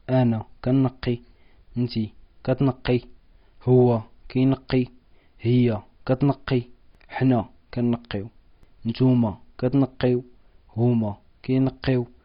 أنا كنقي، انتي كتنقي، هو كينقي، هي كتنقي، حنا كنقيو، نتوما كتنقيو، هما كينقيو.